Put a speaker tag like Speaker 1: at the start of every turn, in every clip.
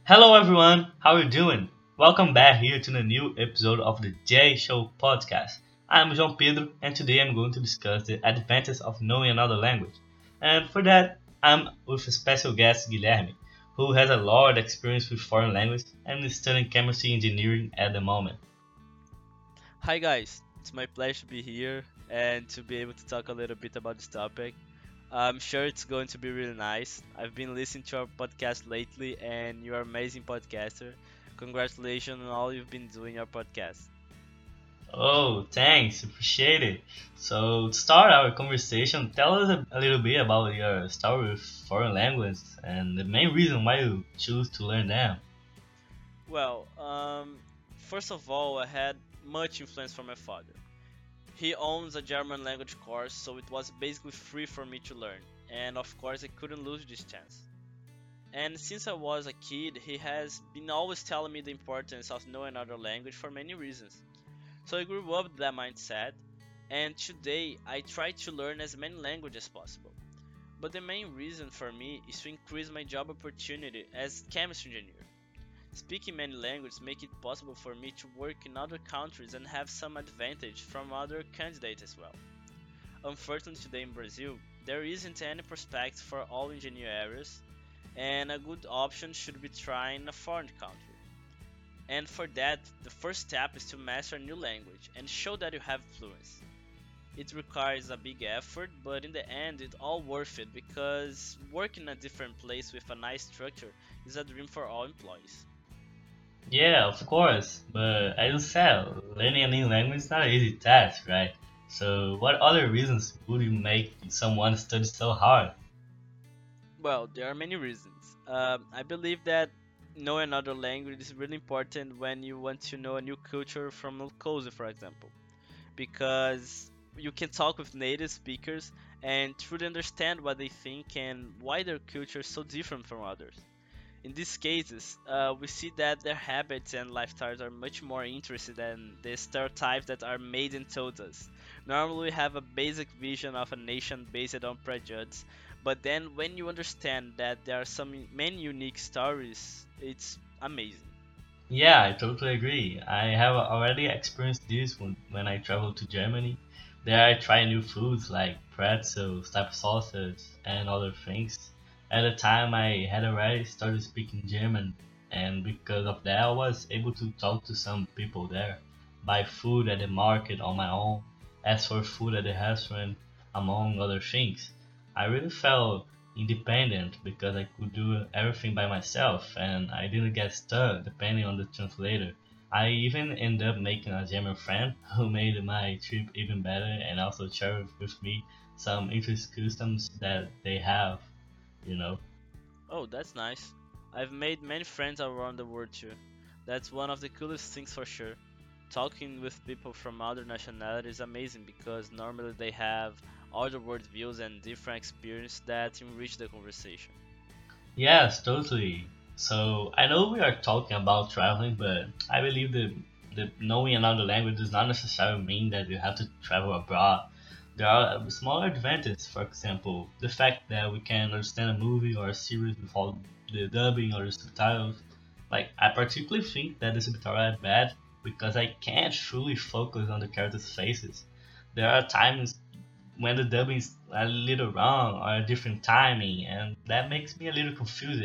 Speaker 1: Hello everyone, how are you doing? Welcome back here to the new episode of the J Show podcast. I'm João Pedro and today I'm going to discuss the advantages of knowing another language. And for that, I'm with a special guest Guilherme, who has a lot of experience with foreign language and is studying chemistry engineering at the moment.
Speaker 2: Hi guys, it's my pleasure to be here and to be able to talk a little bit about this topic. I'm sure it's going to be really nice. I've been listening to our podcast lately and you're an amazing podcaster. Congratulations on all you've been doing your podcast.
Speaker 1: Oh, thanks, appreciate it. So, to start our conversation, tell us a little bit about your story with foreign language and the main reason why you choose to learn them.
Speaker 2: Well, first of all, I had much influence from my father. He owns a German language course, so it was basically free for me to learn. And of course, I couldn't lose this chance. And since I was a kid, he has been always telling me the importance of knowing another language for many reasons. So I grew up with that mindset, and today I try to learn as many languages as possible. But the main reason for me is to increase my job opportunity as chemistry engineer. Speaking many languages make it possible for me to work in other countries and have some advantage from other candidates as well. Unfortunately today in Brazil, there isn't any prospect for all engineer areas, and a good option should be trying a foreign country. And for that, the first step is to master a new language and show that you have fluency. It requires a big effort, but in the end, it's all worth it because working in a different place with a nice structure is a dream for all employees.
Speaker 1: Yeah, of course. But as you said, learning a new language is not an easy task, right? So, what other reasons would you make someone study so hard?
Speaker 2: Well, there are many reasons. I believe that knowing another language is really important when you want to know a new culture from up close, for example, because you can talk with native speakers and truly understand what they think and why their culture is so different from others. In these cases, we see that their habits and lifestyles are much more interesting than the stereotypes that are made and told us. Normally, we have a basic vision of a nation based on prejudice, but then when you understand that there are some many unique stories, it's amazing.
Speaker 1: Yeah, I totally agree. I have already experienced this when I traveled to Germany. There I try new foods like pretzels, type of sausage, and other things. At the time, I had already started speaking German, and because of that, I was able to talk to some people there, buy food at the market on my own, ask for food at the restaurant, among other things. I really felt independent because I could do everything by myself and I didn't get stuck depending on the translator. I even ended up making a German friend who made my trip even better and also shared with me some interesting customs that they have, you know.
Speaker 2: Oh, that's nice. I've made many friends around the world too. That's one of the coolest things for sure. Talking with people from other nationalities is amazing because normally they have other worldviews and different experiences that enrich the conversation.
Speaker 1: Yes, totally. So I know we are talking about traveling, but I believe that knowing another language does not necessarily mean that you have to travel abroad. There are small advantages, for example, the fact that we can understand a movie or a series without the dubbing or the subtitles. Like, I particularly think that the subtitles are bad because I can't truly focus on the characters' faces. There are times when the dubbing is a little wrong or a different timing, and that makes me a little confused.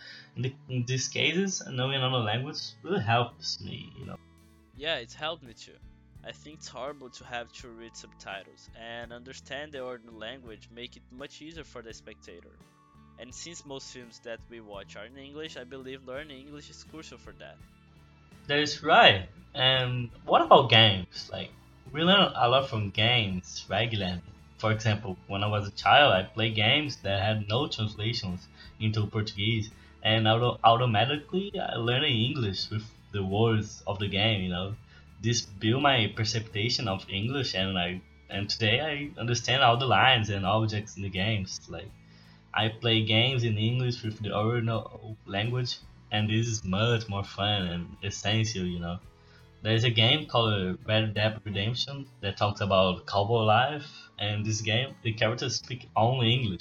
Speaker 1: In these cases, knowing another language really helps me.
Speaker 2: Yeah, it's helped me too. I think it's horrible to have to read subtitles, and understand the original language make it much easier for the spectator. And since most films that we watch are in English, I believe learning English is crucial for that.
Speaker 1: That is right. And what about games? Like, we learn a lot from games regularly. For example, when I was a child, I played games that had no translations into Portuguese, and automatically I learned English with the words of the game. This built my perception of English, and today I understand all the lines and objects in the games. Like, I play games in English with the original language, and this is much more fun and essential. There's a game called Red Dead Redemption that talks about cowboy life, and this game, the characters speak only English.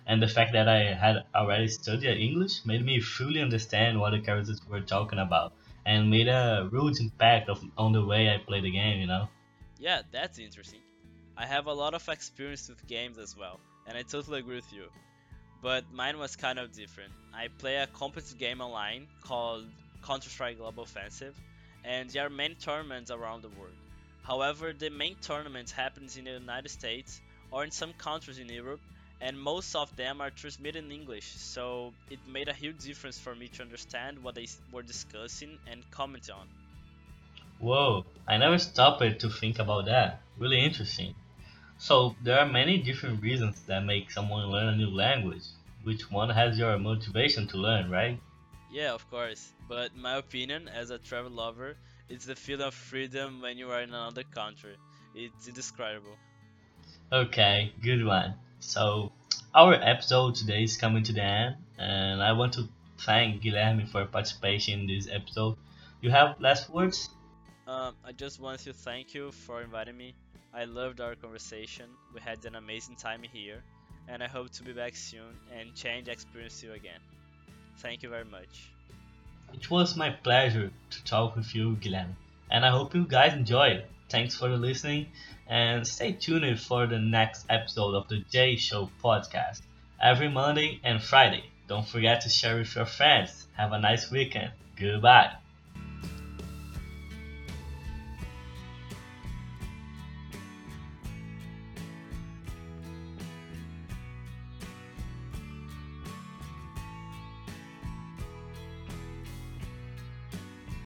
Speaker 1: And the fact that I had already studied English made me fully understand what the characters were talking about, and made a huge impact on the way I play the game, you know?
Speaker 2: Yeah, that's interesting. I have a lot of experience with games as well, and I totally agree with you. But mine was kind of different. I play a competitive game online called Counter-Strike Global Offensive, and there are many tournaments around the world. However, the main tournament happens in the United States or in some countries in Europe, and most of them are transmitted in English, so it made a huge difference for me to understand what they were discussing and comment on.
Speaker 1: Whoa, I never stopped to think about that. Really interesting. So, there are many different reasons that make someone learn a new language. Which one has your motivation to learn, right?
Speaker 2: Yeah, of course. But my opinion, as a travel lover, it's the feeling of freedom when you are in another country. It's indescribable.
Speaker 1: Okay, good one. So, our episode today is coming to the end, and I want to thank Guilherme for participation in this episode. You have last words?
Speaker 2: I just want to thank you for inviting me. I loved our conversation. We had an amazing time here, and I hope to be back soon and change experience you again. Thank you very much.
Speaker 1: It was my pleasure to talk with you, Guilherme, and I hope you guys enjoyed. Thanks for listening, and stay tuned for the next episode of the J Show podcast every Monday and Friday. Don't forget to share with your friends. Have a nice weekend. Goodbye.